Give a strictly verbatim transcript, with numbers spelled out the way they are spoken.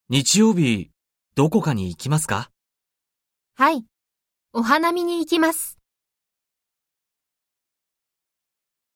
日曜日、どこかに行きますか？ はい。お花見に行きます。